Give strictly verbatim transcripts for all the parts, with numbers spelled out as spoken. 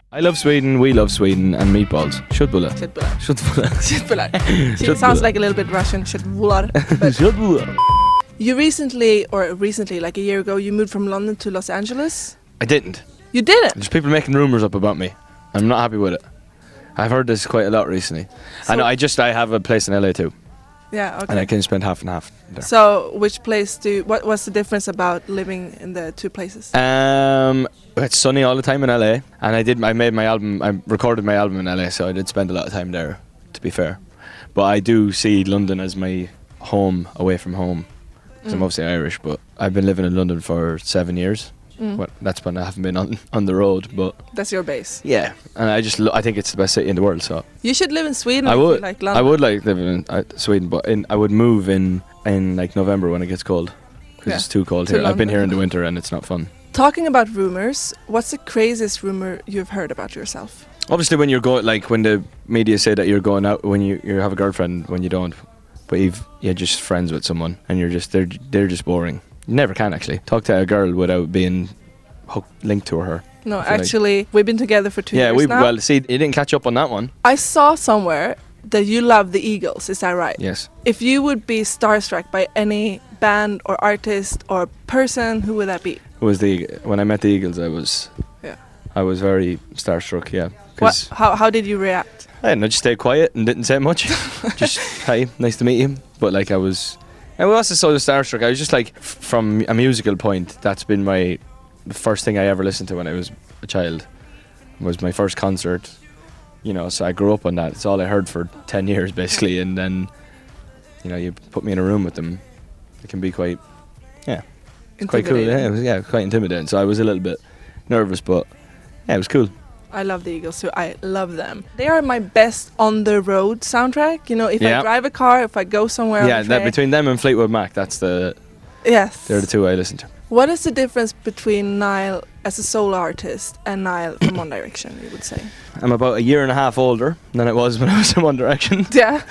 I love Sweden, we love Sweden, and meatballs. Köttbullar. Köttbullar. Köttbullar. Köttbullar. It sounds like a little bit Russian. Köttbullar. Köttbullar. You recently, or recently, like a year ago, you moved from London to Los Angeles. I didn't. You didn't? There's people making rumours up about me. I'm not happy with it. I've heard this quite a lot recently. So I know, I just, I have a place in L A too. Yeah, okay. And I can spend half and half there. So, which place do you, what what's the difference about living in the two places? Um, it's sunny all the time in L A, and I did. I made my album. I recorded my album in L A, so I did spend a lot of time there. To be fair, but I do see London as my home away from home. Because Mm. I'm obviously Irish, but I've been living in London for seven years. Mm. Well, that's when I haven't been on on the road, but That's your base. yeah, and I just lo I think it's the best city in the world. So You should live in Sweden. I if you would, like London. I would like living in uh, Sweden, but in I would move in in like November when it gets cold, because Yeah. it's too cold To here. I've been London. here in the winter and it's not fun. Talking about rumors, what's the craziest rumor you've heard about yourself? Obviously, when you're going, like when the media say that you're going out when you you have a girlfriend when you don't, but you've you're just friends with someone and you're just they're they're just boring. You never can actually talk to a girl without being hooked linked to her. No, I feel like- actually, we've been together for two yeah, years we now. well see you didn't catch up on that one. I saw somewhere that you love the Eagles. Is that right? Yes. If you would be starstruck by any band or artist or person, who would that be? It was the when I met the Eagles, I was Yeah. I was very starstruck. Yeah, What? because How how did you react? I don't know, just stayed quiet and didn't say much. Just hi, nice to meet you. But like I was, I was also so starstruck. I was just like, f- from a musical point, that's been my the first thing I ever listened to when I was a child. Was my first concert. You know, so I grew up on that. It's all I heard for ten years basically, and then, you know, you put me in a room with them. It can be quite, yeah, it's quite cool. Yeah, it was, yeah, quite intimidating. So I was a little bit nervous, but yeah, it was cool. I love the Eagles too. I love them. They are my best on the road soundtrack. You know, if Yeah. I drive a car, if I go somewhere. Yeah, on the that, train. between them and Fleetwood Mac, that's the Yes. they're the two I listen to. What is the difference between Niall as a solo artist and Niall from One Direction? You would say. I'm about a year and a half older than I was when I was in One Direction. Yeah.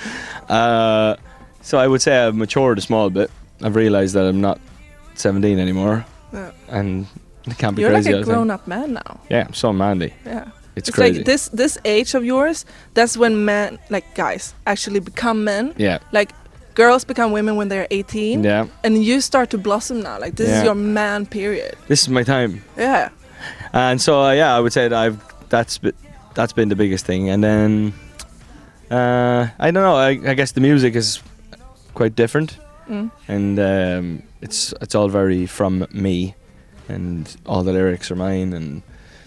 Uh, so I would say I've matured a small bit. I've realised that I'm not seventeen anymore, Yeah. and it can't be You're crazy like all a the time. grown-up man now. Yeah, I'm so manly. Yeah. It's, It's crazy. like this this age of yours. That's when men, like guys, actually become men. Yeah, Like girls become women when they're eighteen. yeah. And you start to blossom now. Like this Yeah. is your man period. This is my time, Yeah. and so uh, yeah, I would say that I've that's be, that's been the biggest thing. And then uh, I don't know. I, I guess the music is quite different. Mm. And um, it's it's all very from me, and all the lyrics are mine, and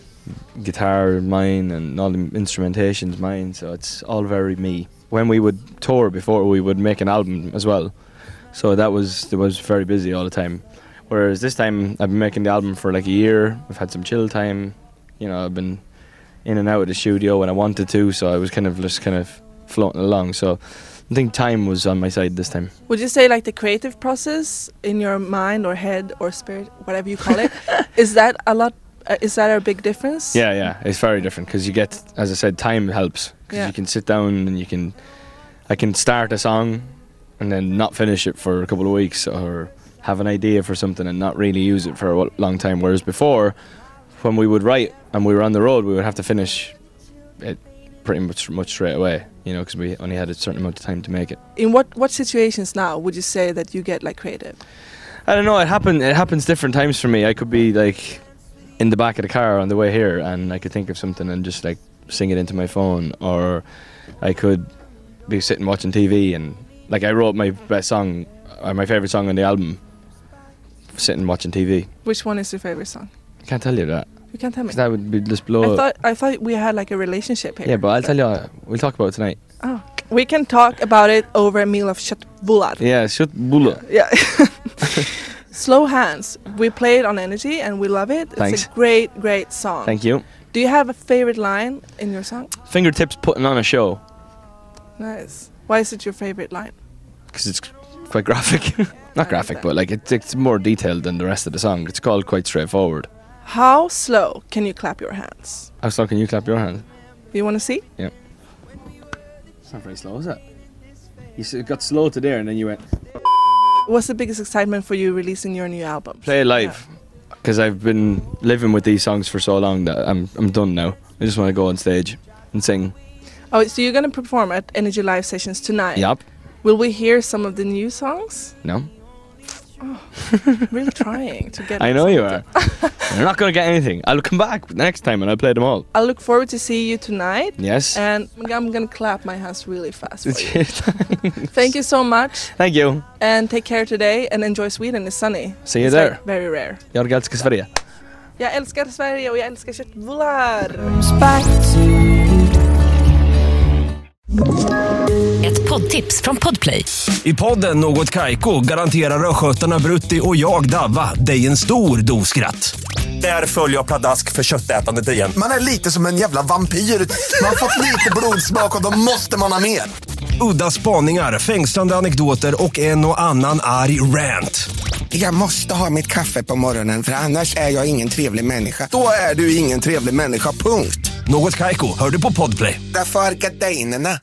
guitar mine, and all the instrumentation's mine. So it's all very me. When we would tour before, we would make an album as well. So that was it was very busy all the time. Whereas this time, I've been making the album for like a year. I've had some chill time. You know, I've been in and out of the studio when I wanted to. So I was kind of just kind of floating along. So I think time was on my side this time. Would you say like the creative process in your mind or head or spirit, whatever you call it, is that a lot? Uh, is that a big difference? Yeah, yeah, it's very different because you get, as I said, time helps because Yeah. you can sit down and you can, I can start a song and then not finish it for a couple of weeks, or have an idea for something and not really use it for a wa- long time. Whereas before, when we would write and we were on the road, we would have to finish it pretty much much straight away, you know, because we only had a certain amount of time to make it. In what what situations now would you say that you get like creative? I don't know. It happen. It happens different times for me. I could be like in the back of the car on the way here, and I could think of something and just like sing it into my phone, or I could be sitting watching T V and like I wrote my best song, or my favorite song on the album, sitting watching T V. Which one is your favorite song? I can't tell you that You can't tell me. 'cause that would be just blow. I up. thought I thought we had like a relationship here. Yeah, but I'll tell you. uh, We'll talk about it tonight. Oh, we can talk about it over a meal of köttbullar. Yeah, shut bulla. Yeah. Slow Hands. We play it on Energy and we love it. Thanks. It's a great, great song. Thank you. Do you have a favorite line in your song? Fingertips putting on a show Nice. Why is it your favorite line? because it's quite graphic. I Not like graphic, that. but like it's, it's more detailed than the rest of the song. It's called quite straightforward. How slow can you clap your hands? How slow can you clap your hands? Do you want to see? It's not very slow, is it? You s- got slow to there and then you went What's the biggest excitement for you releasing your new album? play it live. because I've been living with these songs for so long that I'm I'm done now. I just want to go on stage and sing. Oh, so you're gonna perform at Energy Live Sessions tonight? Yep. Will we hear some of the new songs? No. Oh, really trying to get. I know you are. You're not going to get anything. I'll come back next time and I'll play them all. I look forward to see you tonight. Yes. And I'm going to clap my hands really fast for you. Thanks. Thank you so much. Thank you. And take care today and enjoy Sweden. It's sunny. See you It's there. Very, very rare. Jag älskar Sverige. Jag älskar Sverige och jag älskar köttbullar. Ett poddtips från Podplay. I podden Något Kaiko garanterar röskötarna Brutti och jag Davva dig en stor doskratt. Där följer jag pladask för köttätandet igen. Man är lite som en jävla vampyr. Man har fått lite blodsmak och då måste man ha mer. Udda spaningar, fängslande anekdoter och en och annan arg rant. Jag måste ha mitt kaffe på morgonen för annars är jag ingen trevlig människa. Då är du ingen trevlig människa, punkt. Något Kaiko, hör du på Podplay. Därför är gardinerna.